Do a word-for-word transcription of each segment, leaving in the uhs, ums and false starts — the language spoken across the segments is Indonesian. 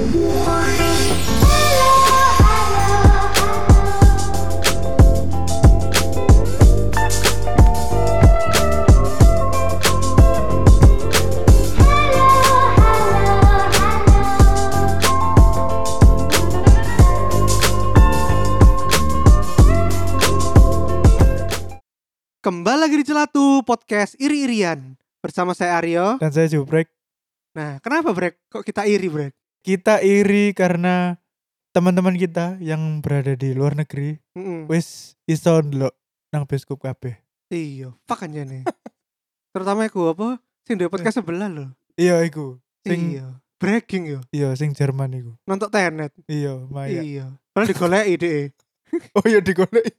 Kembali lagi di Celatu Podcast Iri-irian bersama saya Aryo. Dan saya Jubrek. Nah, kenapa Brek? Kok kita iri, Brek? Kita iri karena teman-teman kita yang berada di luar negeri Mm-mm. wis iso ndelok nang bioskop kabeh. Iya, fuck aja nih. Terutama aku apa? Sing duwe podcast sebelah loh. Iya iku. Sing Iya, breaking yo. iya sing Jerman iku. Nonton Tenet. Iya, Maya. Iya. Padahal digoleki deh. Oh iya digoleki.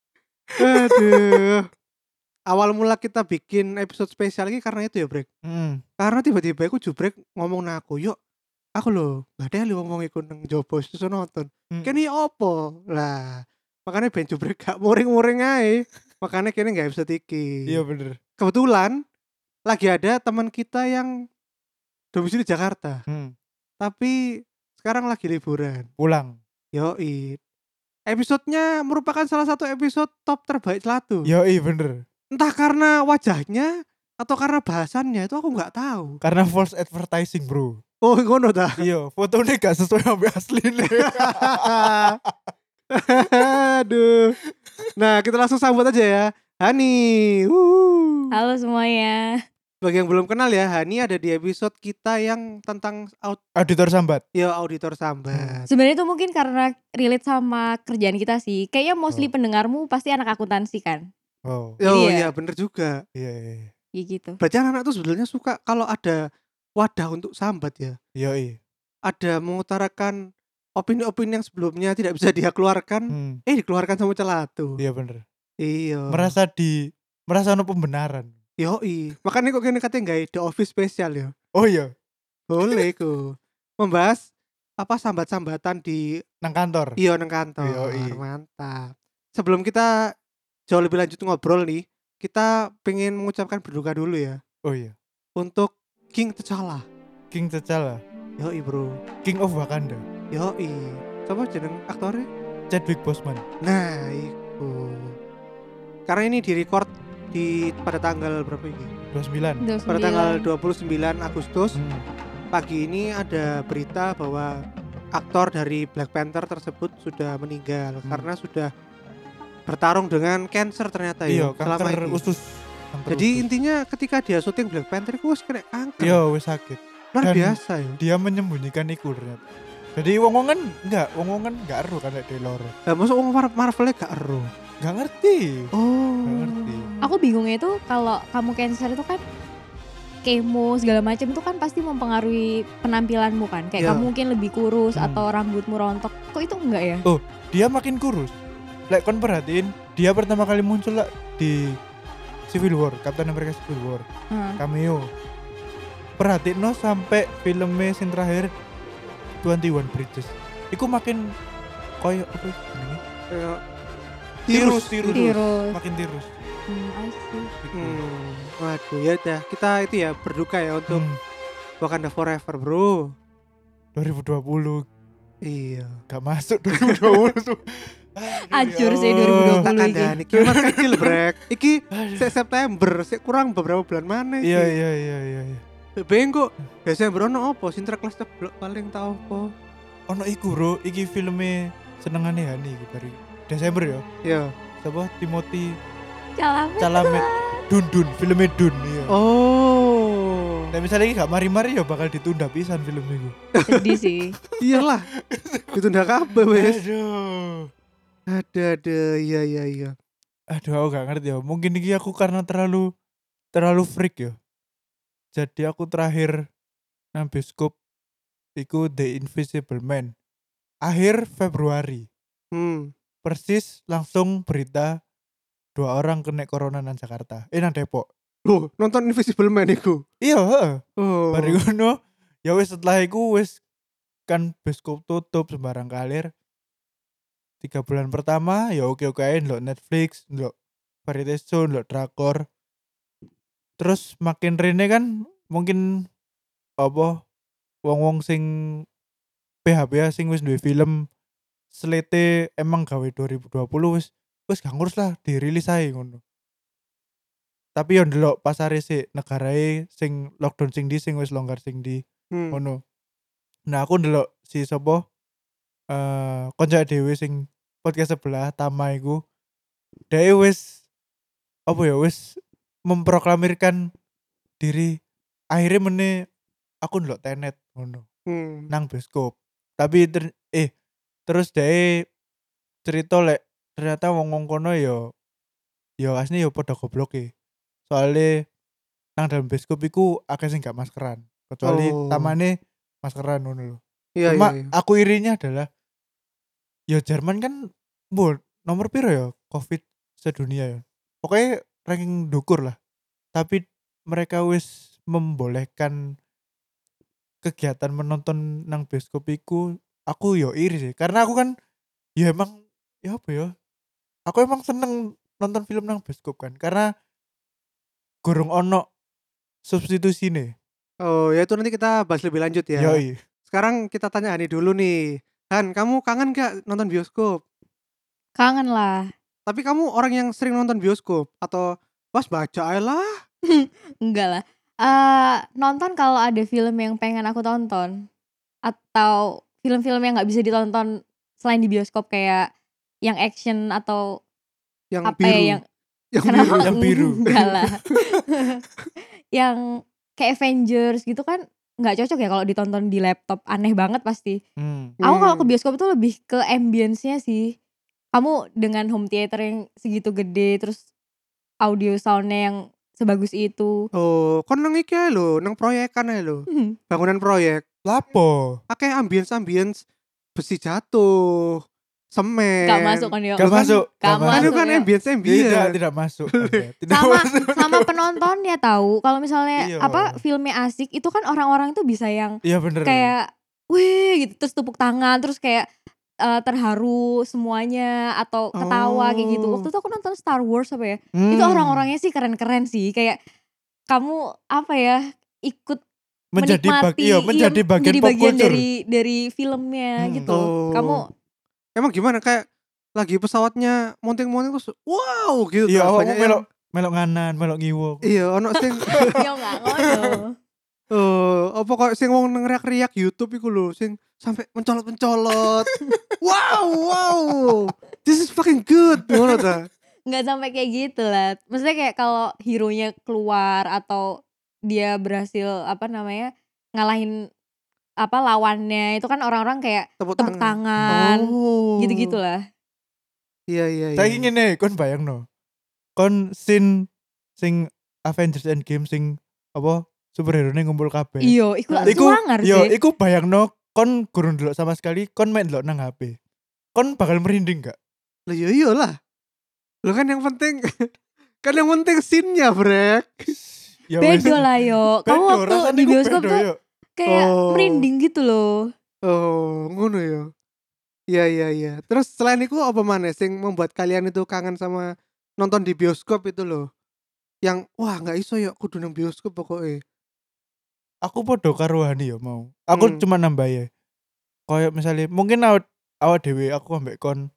Aduh. Awal mula kita bikin episode spesial ini karena itu ya, Brek. Heeh. Karena tiba-tiba aku Jubrek ngomong nang aku, "Yuk, aku lho, gak ada lu ngomong iku nang jopo terus nonton." Hmm. Kene opo? Lah, makanya ben Jubrek gak muring-muring ae. Makanya kene gak episode iki. Iya bener. Kebetulan lagi ada teman kita yang domisili Jakarta, Hmm. tapi sekarang lagi liburan. Pulang. Yoi. Episodenya merupakan salah satu episode top terbaik Celatu. Yoi bener. Entah karena wajahnya atau karena bahasannya itu aku nggak tahu. Karena false advertising, Bro. Oh, ngono dah. Iya, fotonya gak sesuai sama aslinya. Aduh. Nah, kita langsung sambut aja ya. Hani. Wuh. Halo semuanya. Bagi yang belum kenal ya, Hani ada di episode kita yang tentang aud- Auditor sambat. ya auditor sambat. Sebenarnya itu mungkin karena relate sama kerjaan kita sih. Kayaknya mostly Oh. pendengarmu pasti anak akuntansi kan. Oh. Oh Iya. iya, bener juga. Iya iya. iya. Ya gitu. Berarti anak-anak tuh sebenarnya suka kalau ada wadah untuk sambat ya. Yoi. Ada mengutarakan opini-opini yang sebelumnya tidak bisa dia keluarkan, Hmm. eh dikeluarkan sama Celatu. Iya bener. Iya. Merasa di merasa ono pembenaran. Yoi. Makanya kok kene katanya nggak The Office spesial ya. Oh iya, Boleh ku. Membahas apa sambat-sambatan di nang kantor. iya nang kantor. Yoi. Mantap. Sebelum kita jauh lebih lanjut ngobrol nih, kita pengen mengucapkan berduka dulu ya Oh iya. untuk King T'Challa. King T'Challa, Yoi bro. King of Wakanda, Yoi. Coba jeneng aktornya. Chadwick Boseman. Nah, iku. Karena ini direcord di pada tanggal berapa ini? dua puluh sembilan. Pada tanggal dua puluh sembilan Agustus. Hmm. Pagi ini ada berita bahwa aktor dari Black Panther tersebut sudah meninggal Hmm. karena sudah bertarung dengan cancer ternyata Iya, ya selama kanker ini. usus. Kanker Jadi usus. intinya ketika dia syuting Black Panther itu wis kena kanker. Iya, wis sakit. Luar dan- biasa ya. Dia menyembunyikan iku ternyata. Jadi wong-wongan enggak, wong-wongan enggak ero kan nek loro. Lah masa wong Mar- Marvel gak ero. Enggak ngerti. Oh. Enggak ngerti. Aku bingungnya itu kalau kamu cancer itu kan kemo segala macam itu kan pasti mempengaruhi penampilanmu kan. Kayak Ya. kamu mungkin lebih kurus Hmm. atau rambutmu rontok. Kok itu enggak ya? Dia makin kurus. Lek kon perhatiin, dia pertama kali muncul lah di Civil War, Captain America Civil War, Hmm. cameo. Perhatiin no sampai filmnya sing terakhir dua puluh satu Bridges. Iku makin koyo apa jenenge? Kayak Tirus, tirus. Tirus. Makin tirus. Hmm, I see. Iku. Hmm. Waduh ya udah kita itu ya berduka ya untuk Hmm, Wakanda Forever bro. dua ribu dua puluh Iya. gak masuk dua ribu dua puluh tuh. Hancur sih Aduh. dua ribu dua puluh. Tak iki. kandani iki mas kecil brek. Iki Aduh. se- September, sik kurang beberapa bulan mana iki. Iya iya iya iya. iya. Bengko. Desember ono opo? Sinterklas ceblok paling tau opo? Ono iku bro, iki filmnya senengane Hani iki bari Desember ya. Iya. Siapa? Timothy Calamet. Chalamet. Dun Dun, filmnya Dun iya. Oh. Nah misalnya ini gak mari-mari ya bakal ditunda pisan film itu. Sedih sih. Iyalah. Ditunda kabeh wis. Aduh. Ada ada iya iya iya. Aduh aku gak ngerti ya. Mungkin ini aku karena terlalu terlalu freak ya. Jadi aku terakhir nang bioskop iku The Invisible Man. Akhir Februari. Hmm. Persis langsung berita dua orang kena corona nang Jakarta. Eh nang Depok. Loh, nonton Invisible Man iku. Iya, heeh. Oh. Bari ngono, ya wis setelah iku wis kan bioskop tutup sembarang kalir. Tiga bulan pertama ya oke-oke aja ndelok Netflix, ndelok variety show, ndelok drakor. Terus makin rene kan mungkin apa wong-wong sing H B sing wis duwe film slate emang gawe dua ribu dua puluh wis wis gak ngurus lah dirilis ae ngono. Tapi yo ndelok pasare sik negarae sing lockdown sing di sing wis longgar sing di Hmm. ngono. Nah aku ndelok si sapa eh konco dhewe sing podcast sebelah Tama iku dhewe wis apa ya wis memproklamirkan diri akhirnya meneh aku ndelok Tenet ngono Hmm. nang bioskop. Tapi ter, eh terus dhewe cerita lek ternyata wong-wong kono yo yo asli yo padha gobloke. Soale nang dalam bioskop iku akeh sing gak maskeran. Kecuali Oh. tamane maskeran ngono lho. Iya, Cuma iya, iya. aku irinya adalah ya Jerman kan bu nomor piro ya Covid sedunia ya. Pokoknya ranking dukur lah. Tapi mereka wis membolehkan kegiatan menonton nang bioskop iku aku yo iri sih. Karena aku kan ya emang ya apa ya? Aku emang seneng nonton film nang bioskop kan. Karena gurung ono substitusi nih. Oh, ya itu nanti kita bahas lebih lanjut ya. Yoi. Sekarang kita tanya Hani dulu nih. Han, kamu kangen gak nonton bioskop? Kangen lah. Tapi kamu orang yang sering nonton bioskop atau pas baca aja lah? Enggak lah. Eh nonton kalau ada film yang pengen aku tonton atau film-film yang nggak bisa ditonton selain di bioskop kayak yang action atau Yang apa biru. ya yang Yang kenapa biru. Yang biru. enggak lah. Yang kayak Avengers gitu kan nggak cocok ya kalau ditonton di laptop, aneh banget pasti. Hmm. Aku kalau ke Hmm. bioskop tuh lebih ke ambience-nya sih. Kamu dengan home theater yang segitu gede terus audio soundnya yang sebagus itu. Oh, kon nang iki ae lho, nang proyekan ae lho. Bangunan proyek. Lapo? Akeh ambience-ambience besi jatuh, semen. Gak masuk kan ya. Gak Kan- masuk. gak Gak Kan masuk. itu masuk. kan ya. ambience-ambience. Tidak, tidak masuk. Anda. Tidak Sama masuk. sama penontonnya tahu. Kalau misalnya Iya. apa filmnya asik itu kan orang-orang tuh bisa yang Iya bener. kayak wih gitu terus tepuk tangan terus kayak eh, terharu semuanya atau ketawa kayak gitu. Oh. Waktu itu aku nonton Star Wars apa ya? Hmm. Itu orang-orangnya sih keren-keren sih kayak kamu apa ya ikut menjadi bag, menikmati iya, menjadi bagian menjadi pop bagian culture. dari dari filmnya Hmm. gitu. Oh. Kamu Emang gimana kayak lagi pesawatnya monting-monting terus wow gitu. Iya, kan. awakmu Banyak yang- melok melok nganan, melok ngiwo. Iya, ono sing yo nggak ngono. eh apa kok sing wong ngeriak-riak YouTube iku lho, sing sampai mencolot-mencolot. wow, wow. This is fucking good. Ngono ta? Nggak sampai kayak gitu lah. Maksudnya kayak kalau hero-nya keluar atau dia berhasil apa namanya ngalahin apa lawannya itu kan orang-orang kayak Tepuk tepuk tangan. tangan, Oh. gitu-gitu lah. Iya, iya, iya. Saya ingin nih, kon bayangno. Kon scene sing Avengers Endgame sing apa superhero nya ngumpul kabeh. Iyo, iku lah Iku suangar yo, sih. iku bayangno kon gurung delok sama sekali, kon main delok nang H P. Kon bakal merinding gak? Lah iya iyalah. Lo kan yang penting kan yang penting scene-nya, Brek. Ya wes. Bedo lah yo. Kamu Bedo, waktu rasanya di iku bioskop bedo, tuh yo. kayak Oh. merinding gitu loh. Oh, ngono ya. Iya, iya, iya. Terus selain itu apa maneh sing membuat kalian itu kangen sama nonton di bioskop itu loh? Yang wah nggak iso ya kudu nang bioskop pokoknya. Aku podo karo Hani ya mau. Aku Hmm. cuma nambah ya. Kayak misalnya mungkin awak awak dhewe aku ambek kon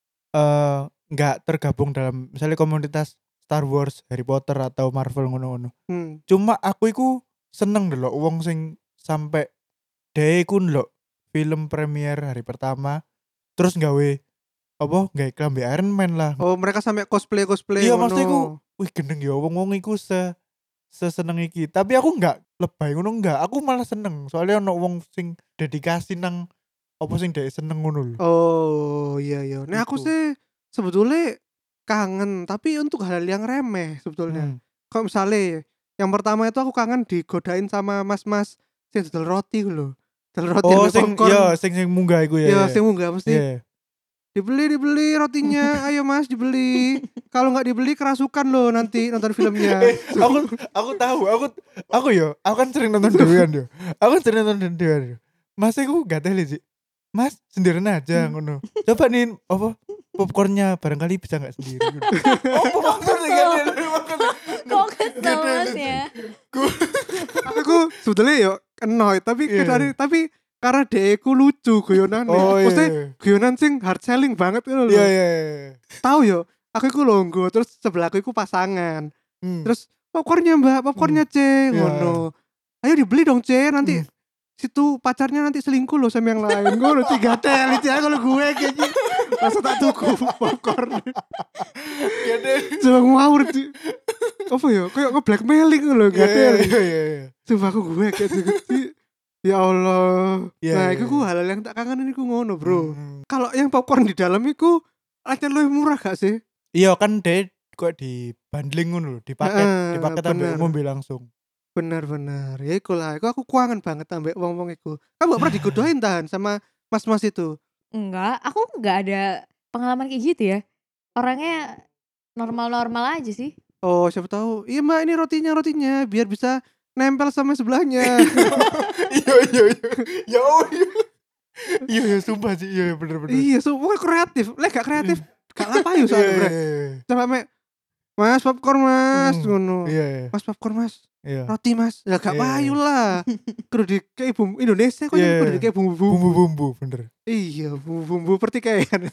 eh nggak tergabung dalam misalnya komunitas Star Wars, Harry Potter atau Marvel ngono-ngono. Hmm. Cuma aku iku seneng delok wong sing sampai dhewe iku ndelok film premier hari pertama terus gawe apa gawe klambi Iron Man lah. Oh, mereka sampai cosplay-cosplay Iya ngono. maksudnya iku wih gendeng ya wong-wong iku se seseneng iki. Tapi aku nggak lebay ngono enggak. Aku malah seneng soalnya ono wong sing dedikasi nang apa sing dhek seneng ngono lho. Oh, iya, iya. Nah, aku Iku. sih sebetulnya kangen, tapi untuk hal yang remeh sebetulnya. Hmm. Kalau misalnya yang pertama itu aku kangen digodain sama mas-mas sing dodol roti lho. Dodol roti Oh ambek sing popcorn. iya sing sing munggah iku ya. Ya, ya. sing munggah mesti Iya. dibeli dibeli rotinya. Ayo Mas, dibeli. Kalau nggak dibeli kerasukan loh nanti nonton filmnya. Eh, aku aku tahu, aku aku yo, aku kan sering nonton dewean yo. Aku kan sering nonton dewean yo. Mas aku gak teli sih. Mas sendirian aja ngono. Coba nih apa popcornnya barangkali bisa nggak sendiri. Gitu. Oh, maksudnya kan Kok kesel mas ya? aku sebetulnya yo annoyed tapi Iya. kadang tapi karena deku lucu guyonane. Oh Maksudnya iya. guyonan sing hard selling banget ngono lho. Iya iya. iya. Tahu yo, aku iku longgo terus sebelahku iku pasangan. Hmm. Terus popcornnya Mbak, popcornya C Iya. ngono. Ayo dibeli dong C nanti. Hmm. Situ pacarnya nanti selingkuh loh sama yang lain. Ngono tiga tel iki kalau gue kayaknya langsung tak tuku popcorn. Iya deh. Coba ngawur di apa ya? Kayak nge-blackmailing lho, Iya gak iya ada. iya iya. Coba aku gue kayak gitu. Ya Allah. Iya, Nah, iya, itu iya. ku hal yang tak kangenin iku ngono, Bro. Hmm. Kalau yang popcorn di dalam iku aja lebih murah gak sih? Iya kan deh kok di bundling ngono lho, dipaket, Heeh, dipaket bener. ambek mobil langsung. Bener-bener. Ya iku lah, iku aku kuangan banget ambek wong-wong iku. Kamu gak pernah digodain tahan sama mas-mas itu? Enggak, aku enggak ada pengalaman kayak gitu ya. Orangnya normal-normal aja sih. Oh, siapa tahu. Iya, Mbak, ini rotinya, rotinya biar bisa nempel sama sebelahnya. Iya iya iya. Ya oh iya. Iya iya sumpah sih iya bener bener. Iya, so pokoknya kreatif. Lek gak kreatif, gak ngapain soalnya, Iya, Bre. iya, iya. Coba mek, Mas popcorn Mas, Hmm, ngono. Iya iya. Mas popcorn Mas, Iya. roti Mas. Ya gak Iya, payu iya. lah. Kudu dikei bumbu Indonesia kok Iya, yang kudu iya. dikei bumbu-bumbu. Bumbu-bumbu bener. Iya, bumbu-bumbu pertikaian.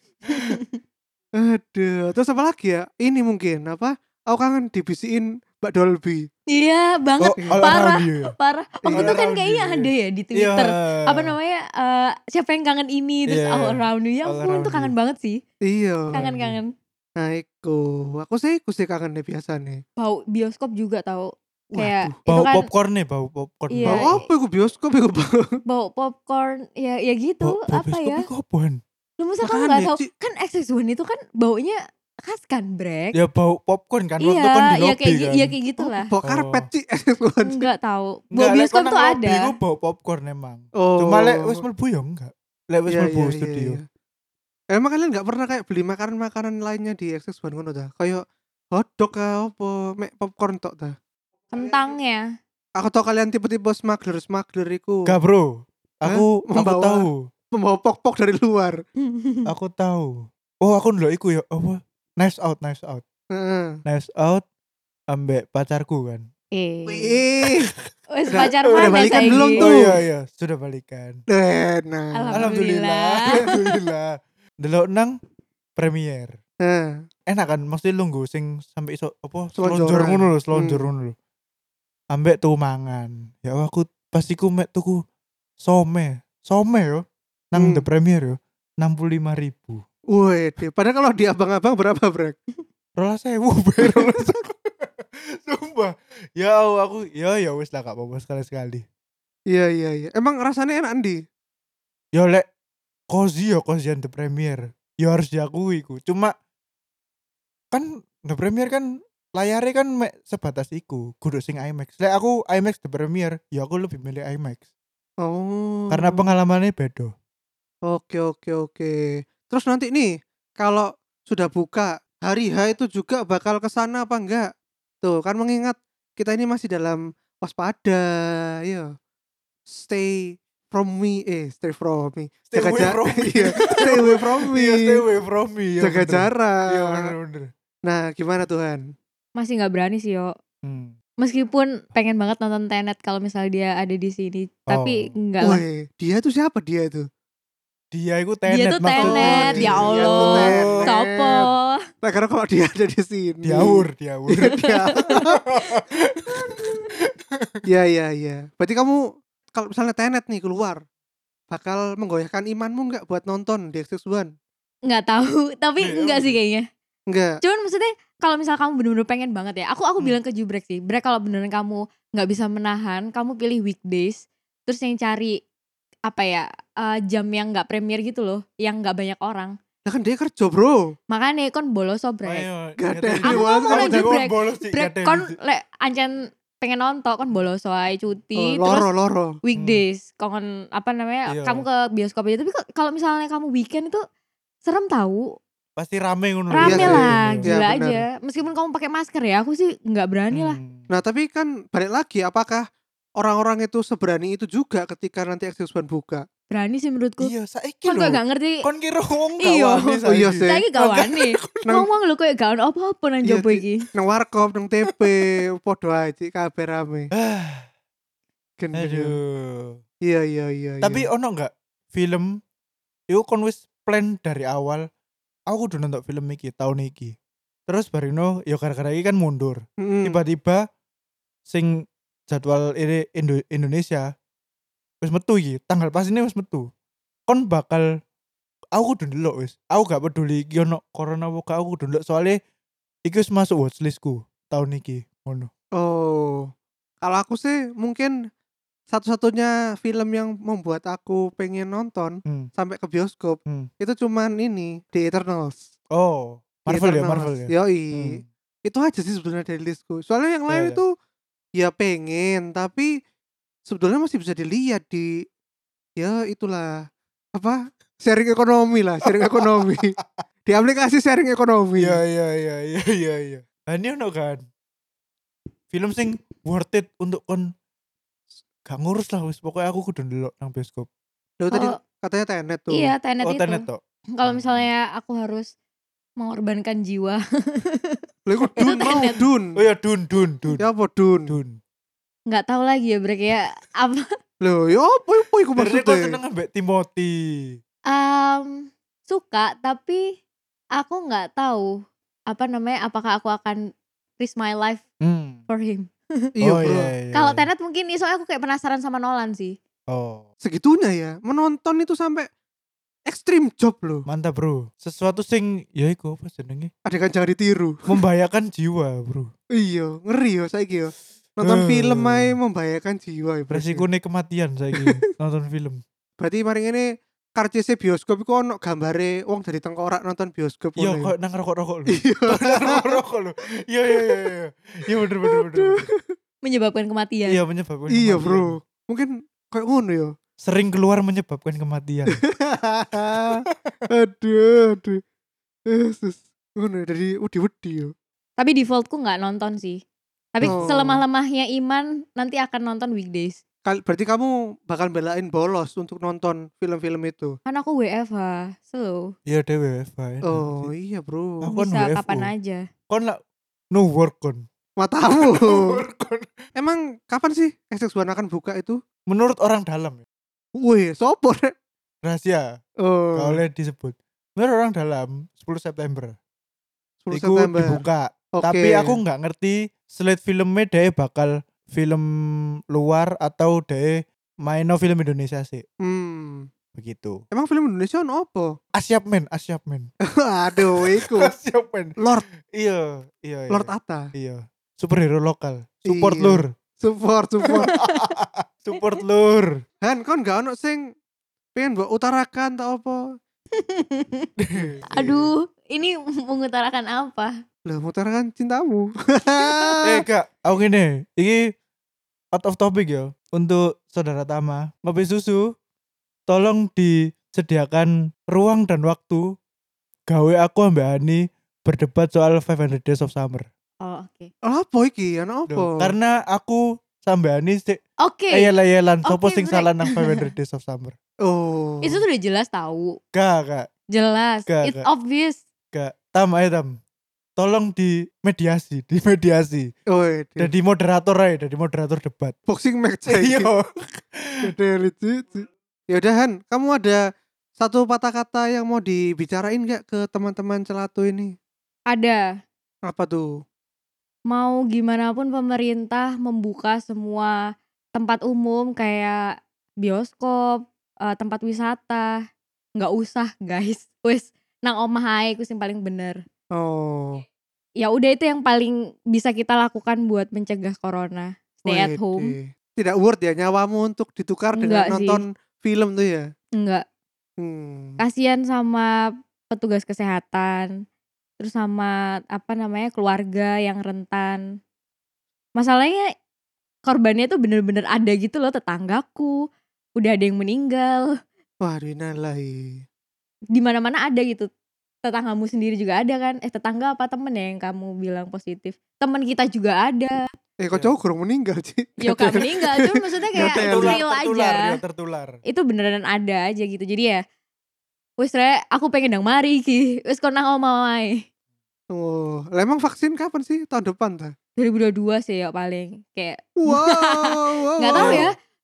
Aduh, terus apa lagi ya? Ini mungkin apa? Aku kangen dibisiin Mbak Dolby. Iya banget, Oh, all parah, around you ya? parah. Waktu Iya. itu kan All kayaknya around you, ada iya. ya di Twitter. Iya. Apa namanya? eh, siapa yang kangen ini terus Iya. all around you. Ya All ampun around tuh kangen you. banget sih. Iya. Kangen-kangen. Nah, iku. Aku sih aku sih kangen deh biasa nih. Bau bioskop juga tahu. Kayak Waduh. itu Bau kan popcorn nih, bau popcorn. Iya. Bau apa iku bioskop iku bau? bau popcorn ya ya gitu Bau, bau apa bioskop ya? itu apaan? Lu masa kamu Makanya, nggak tahu? Ci. Kan X X one itu kan baunya khas kan, Brek? Ya bau popcorn kan waktu Iya, kan di ya lobby kayak gi- kan. ya kayak gitulah. Bau karpet Oh. sih. Enggak tahu. Bau Enggak, lek bioskop kono tuh lobby ada. iku bau popcorn emang. Oh. Cuma lek wis mlebu ya enggak. Lek wis Iya, mlebu iya, studio. iya, iya. Emang kalian gak pernah kayak beli makanan-makanan lainnya di X X one ngono ta? Kayak hotdog kah apa, mek popcorn tok ta? Kentangnya. Aku tau kalian tipe-tipe smuggler-smuggler iku. Enggak, Bro. Aku aku Membawa- tahu. Membawa pok-pok dari luar. Aku tahu. Oh, aku ndelok iku ya apa? Nice out, nice out. Heeh. Nice out ambek pacarku kan. eh. Wih. Wes Udah- pacar udah mana balikan saiki? belum Oh tuh? iya iya, sudah balikan. Eh, Nah. Alhamdulillah. Alhamdulillah. Alhamdulillah. Delok nang premier. Nah. Enak kan mesti lungguh sing sampai iso apa Selonjoran. selonjor ngono lho, selonjor Hmm. ngono lho. Ambek tuh mangan. Ya aku pas iku mek tuku some. Some yo nang Hmm. the premier yo enam puluh lima ribu. Wih, padahal kalau di abang-abang berapa, Brek? Rolas sewu ber. Sumpah. Ya Allah, aku ya ya wis lah gak apa-apa sekali-sekali. Iya, iya, iya. Emang rasanya enak Andi? Ya lek cozy ya cozy the premier. Ya harus diakui ku. Cuma kan the premier kan layarnya kan mek sebatas iku, kudu sing IMAX. Lek aku IMAX the premier, ya aku lebih milih IMAX. Oh. Karena pengalamannya beda. Oke, oke, oke. Terus nanti nih, kalau sudah buka hari H itu juga bakal ke sana apa enggak? Tuh, kan mengingat kita ini masih dalam waspada, ya. Stay from me, eh, stay from me. Stay Jaga away ja- from me. Iya, stay away from me. Iya, stay away from me. Ya, Jaga bener. jarak. Iya bener-bener. Nah, gimana Tuhan? Masih nggak berani sih yo. Hmm. Meskipun pengen banget nonton Tenet kalau misalnya dia ada di sini, tapi Oh. enggak lah. Woi, dia tuh siapa dia tuh? Dia itu Dia tenet tuh Tenet, maksudnya. ya Dia tuh Allah. Tenet. Sopo? Nah, karena kalau dia ada di sini. diawur, diawur. Iya, dia. Iya, iya, iya. Berarti kamu kalau misalnya Tenet nih keluar, bakal menggoyahkan imanmu nggak buat nonton di X X one? Nggak tahu, tapi Iya, enggak sih udah. kayaknya. Enggak. Cuman maksudnya kalau misal kamu bener-bener pengen banget ya, aku aku Hmm. bilang ke Jubrek sih, Brek kalau beneran kamu nggak bisa menahan, kamu pilih weekdays, terus yang cari apa ya eh, jam yang nggak premier gitu loh, yang nggak banyak orang. Nah kan dia kerja, Bro. Makanya kon bolos so Brek. Ayo, Gak gak ada ada. yang Aku bolos, ngomong kamu aja, jago. Brek. bolos sih, Brek gak ada kon yang- lek ancen pengen nonton kon bolos wae cuti Oh, terus loro, loro. weekdays kon apa namanya Iya. kamu ke bioskop aja, tapi kok- kalau misalnya kamu weekend itu serem tahu. Pasti rame ngono. Rame Iya sih, lah, iya, gila benar. aja. Meskipun kamu pakai masker ya, aku sih nggak berani lah. Hmm. Nah tapi kan balik lagi, apakah orang-orang itu seberani itu juga ketika nanti X X one buka? Berani sih menurutku. Iya, saiki Kon lho. kok gak ngerti. Kon kira wong gak Iya. wani Oh iya saiki. sih. Saiki gak wani. Nang- Ngomong lu kayak gak ono apa-apa nang Iya, jopo Ci. iki. Nang warkop, nang T P, podo aja kabeh rame. Ah, Gendeng. aduh. Iya iya iya. Tapi iya. ono enggak film iku kon wis plan dari awal aku kudu nonton film iki tahun iki. Terus barino ya gara-gara iki kan mundur. Mm-mm. Tiba-tiba sing jadwal ini Indo- Indonesia wis metu iki, tanggal pas ini wis metu. Kon bakal aku kudu ndelok wis. Aku gak peduli iki ono corona apa gak, aku kudu ndelok soalnya iki wis masuk watchlistku tahun iki. Ngono. Oh, kalau aku sih mungkin satu-satunya film yang membuat aku pengen nonton Hmm. sampai ke bioskop Hmm. itu cuman ini The Eternals. Oh, The Marvel ya, Eternals. Marvel ya. Yoi. Hmm. Itu aja sih sebenarnya dari listku. Soalnya yang Iya, lain iya. itu ya pengen, tapi sebetulnya masih bisa dilihat di ya itulah apa sharing ekonomi lah, sharing ekonomi di aplikasi sharing ekonomi. Iya iya iya iya iya iya. Lah ini ono kan film sing worth it untuk kon gak ngurus lah wis pokoknya aku kudu ndelok nang bioskop. Loh, tadi Kalau katanya Tenet tuh. iya Tenet Oh, itu. Tenet tok. Kalau misalnya aku harus mengorbankan jiwa. Lah iku Itu Dun mau Tenet. Dun. Oh ya Dun Dun Dun. Ya apa Dun? Dun. Nggak tahu lagi ya Bre kayak apa. Loh, ya apa apa iku Berarti kau maksudnya? seneng ambek Timothy. Um, suka tapi aku nggak tahu apa namanya apakah aku akan risk my life Hmm. for him. Iya, Oh bro. iya iya. Kalau iya. Tenet mungkin nih soalnya aku kayak penasaran sama Nolan sih. Oh, Segitunya ya. Menonton itu sampai ekstrim job loh. mantap bro. Sesuatu sing ya iku apa jenenge? Adegan jangan ditiru. Membahayakan jiwa, bro. Iya, ngeri ya saiki ya. Nonton Eh. film ae membahayakan jiwa ya. Bro. Resikonya kematian saiki nonton film. Berarti mari ini karcis bioskop iku ono gambare wong dari tengkorak nonton bioskop Iya, ngono ya. kok nang rokok-rokok lho. Iya. Nang rokok lho. Iya iya iya iya. Iya bener bener bener. bener. Menyebabkan kematian. Iya menyebabkan Iya, kematian. bro. Mungkin kayak ngono ya. Sering keluar menyebabkan kematian. aduh, aduh. Yesus. Ngono ya, dari wedi-wedi ya. Tapi defaultku nggak nonton sih. Tapi Oh. selemah-lemahnya Iman nanti akan nonton weekdays. Kal- Berarti kamu bakal belain bolos untuk nonton film-film itu. Kan aku W F H, slow. Iya dewe fine. Oh iya bro. Aku kan Bisa W F O. kapan aja. Kon lah no work kon. Matamu. No work kon. Emang kapan sih X X One akan buka itu? Menurut orang dalam ya. Wih, sopo rek? Rahasia. Oh, Gak boleh disebut. Menurut orang dalam sepuluh September. sepuluh Iku September. dibuka. Oke. Tapi aku nggak ngerti slate filmnya dia bakal film luar atau dia main no film Indonesia sih. Hmm. Begitu. Emang film Indonesia ono apa? Asyap men, Asyap men. Aduh, iku. Asyap men. Lord, Iya, iya, iya. Lord Atta. Iya. Superhero lokal. Support Iya. lur. Support, support. Support lur. Han, kon gak ono sing pengen mbok utarakan tak apa? Aduh, ini mengutarakan apa? Lah, mengutarakan cintamu. Eh kak, aku gini, ini out of topic ya. Untuk saudara Tama, ngopi susu, tolong disediakan ruang dan waktu gawe aku ambek Ani berdebat soal five hundred Days of Summer. Oh, oke. Apa iki? Ono apa? Duh, karena aku sampe Ani sik Oke. ayel-ayelan sopo Oke, sing break. salah nang five hundred Days of Summer. Oh. Itu tuh udah jelas tahu. Gak, gak, Jelas. Gak, It's gak. obvious. gak. Tam ayo Tam. Tolong di mediasi, di mediasi. Oh, iya. Jadi moderator aja, jadi moderator debat. Boxing match saiki. Iya. Dari lucu. Ya udah Han, kamu ada satu patah kata yang mau dibicarain gak ke teman-teman celatu ini? Ada. Apa tuh? Mau gimana pun pemerintah membuka semua tempat umum kayak bioskop, eh, tempat wisata, nggak usah guys. Wes nang omah ae ku sing paling bener. Oh. Ya udah itu yang paling bisa kita lakukan buat mencegah corona. Stay at Wede. home. Tidak worth ya nyawamu untuk ditukar dengan Enggak sih. nonton film tuh ya? Enggak. Hmm. Kasihan sama petugas kesehatan. Terus sama apa namanya keluarga yang rentan. Masalahnya korbannya tuh bener-bener ada gitu loh, tetanggaku. Udah ada yang meninggal. Wah, dinalahi. Di mana-mana ada gitu. Tetanggamu sendiri juga ada kan? Eh tetangga apa temen ya yang kamu bilang positif? Temen kita juga ada. Eh, kok Iya. cowok kurang meninggal sih? Ya gak meninggal, cuma maksudnya kayak Tertular, real tertular, aja. ya, tertular. Itu beneran ada aja gitu. Jadi ya wis re, aku pengen nang mari iki. Wis kon nang omah wae. Oh, lah emang vaksin kapan sih? Tahun depan ta? dua ribu dua puluh dua sih ya paling. Kayak Wow, wow, nggak tahu wow. ya.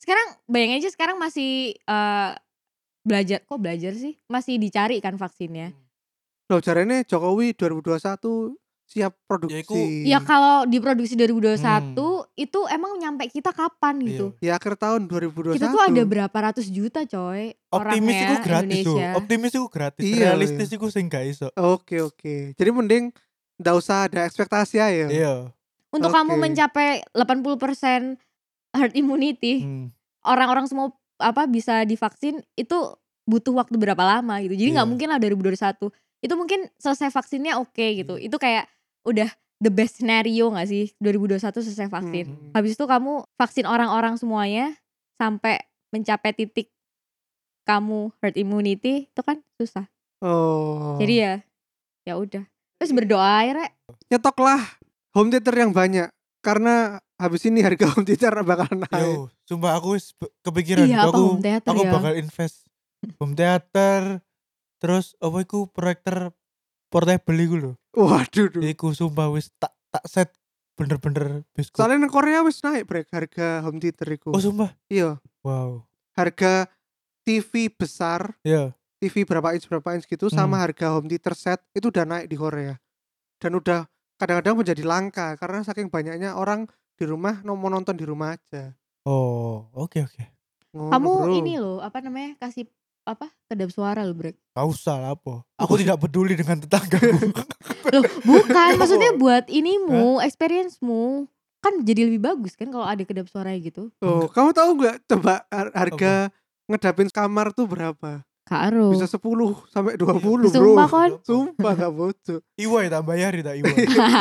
Sekarang bayangin aja sekarang masih uh, belajar, kok belajar sih? Masih dicari kan vaksinnya. Loh jarene Jokowi dua ribu dua puluh satu siap Ya, iku- produksi. Ya kalau diproduksi dua ribu dua puluh satu Hmm. itu emang nyampe kita kapan gitu? Ya akhir tahun dua ribu dua puluh satu. Kita tuh ada berapa ratus juta coy Optimis orangnya iku gratis tuh. Indonesia. Optimis iku gratis. Iya, Realistis iku sing gak iso. Oke oke. Jadi mending ndak usah ada ekspektasi aja. Iya. Untuk Oke. kamu mencapai delapan puluh persen herd immunity, Hmm. orang-orang semua apa bisa divaksin itu butuh waktu berapa lama gitu. Jadi nggak Iya. mungkin lah dua ribu dua puluh satu. Itu mungkin selesai vaksinnya oke gitu. Hmm. Itu kayak udah the best scenario gak sih dua ribu dua puluh satu selesai vaksin. Hmm. Habis itu kamu vaksin orang-orang semuanya sampai mencapai titik kamu herd immunity itu kan susah. Oh. Jadi ya ya udah. Terus berdoa ya, Rek. Nyetoklah home theater yang banyak karena habis ini harga home theater bakal naik. Yo, sumpah aku wis be- kepikiran Iya, gitu. apa aku home theater aku ya? bakal invest home theater. Terus apa iku proyektor portable iku lho. Waduh. duh. Iku sumpah wis tak tak set bener-bener bioskop. Soalnya nang Korea wis naik brek harga home theater iku. Oh sumpah. Iya, Wow. harga T V besar, Ya. T V berapa inch berapa inch gitu Hmm. sama harga home theater set itu udah naik di Korea. Dan udah kadang-kadang menjadi langka karena saking banyaknya orang di rumah no- mau nonton di rumah aja. Oh, oke oke. Ngono, Kamu bro. ini loh, apa namanya? Kasih apa? Kedap suara loh, Brek. Gak usah lah apa. Aku tidak peduli dengan tetanggaku. Loh, bukan, maksudnya buat inimu, experience-mu. Kan jadi lebih bagus kan kalau ada kedap suara gitu. Oh, kamu tahu nggak coba har- harga ngedapin kamar tuh berapa? Karo. Bisa sepuluh sampai dua puluh, bro. Sumpah kon. Sumpah gak bocor. Iwai tak bayar tak iwai.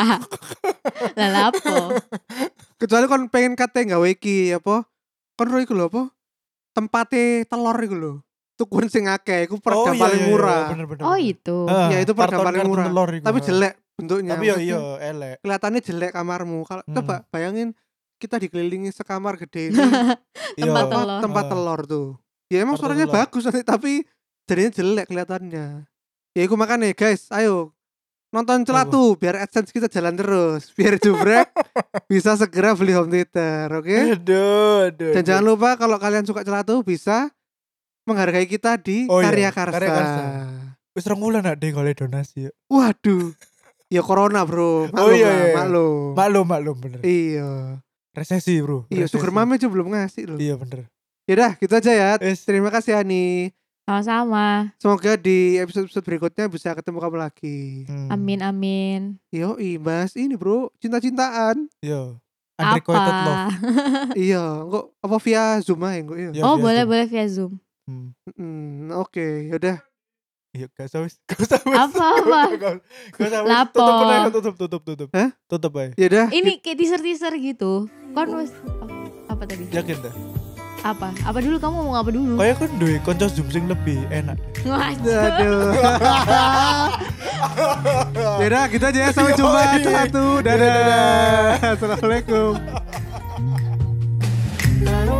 Lah lapo. Kecuali kon pengen kate gawe iki apa? Kon ro iku lho apa? Tempate telur iku lho. Tukun sing akeh iku peredam iya, paling iya, iya, murah. bener, bener, Oh bener. itu. Ah, Ya, itu peredam karton- paling karton murah. telur iku, Tapi ah. jelek bentuknya. Tapi ya Maksudnya, iya elek. kelihatannya jelek kamarmu. Kalau Hmm. coba bayangin kita dikelilingi sekamar gede ini Iya. Tempat tempat, telur. tempat Ah. telur tuh. Ya emang Karton suaranya telur. bagus nanti tapi jadinya jelek kelihatannya. Ya iku makanya guys, ayo nonton Celatu biar AdSense kita jalan terus, biar Jubrek bisa segera beli home theater, oke? Aduh, aduh. Dan aduh. jangan lupa kalau kalian suka Celatu bisa menghargai kita di Oh iya, Karya Karsa. Karya Karsa. Wis rong wulan nak deh kalau donasi ya. Waduh. Ya corona, Bro. Maklum Oh iya, lah, iya. maklum. Maklum maklum bener. Iya. Resesi bro. Iya, Resesi. Sugar Mame aja belum ngasih loh. Iya bener. Yaudah, gitu aja ya. Wis. Terima kasih Ani. Sama-sama. Semoga di episode-episode berikutnya bisa ketemu kamu lagi. Hmm. Amin amin. Yoi, bahas ini bro, cinta-cintaan. Iya. Unrequited love. Apa? Iya, kok apa via Zoom aja kok ya. Iya, Oh via boleh Zoom. boleh via Zoom. Hmm. Hmm, oke, yaudah. Iya, gak usah wis. Gak usah wis. Apa, apa? Gak gak usah wis. Lapo? Tutup aja, tutup tutup tutup. Hah? Tutup aja. Yaudah. Ini kayak teaser-teaser gitu. Kon wes oh, apa tadi? Yakin dah. Apa? Apa dulu kamu mau apa dulu? Kayak kan duwe konco Zoom sing lebih enak. Ngaco. Aduh. Yaudah, gitu aja ya. Sampai Yoi. jumpa satu. Dadah. Dadah. Assalamualaikum.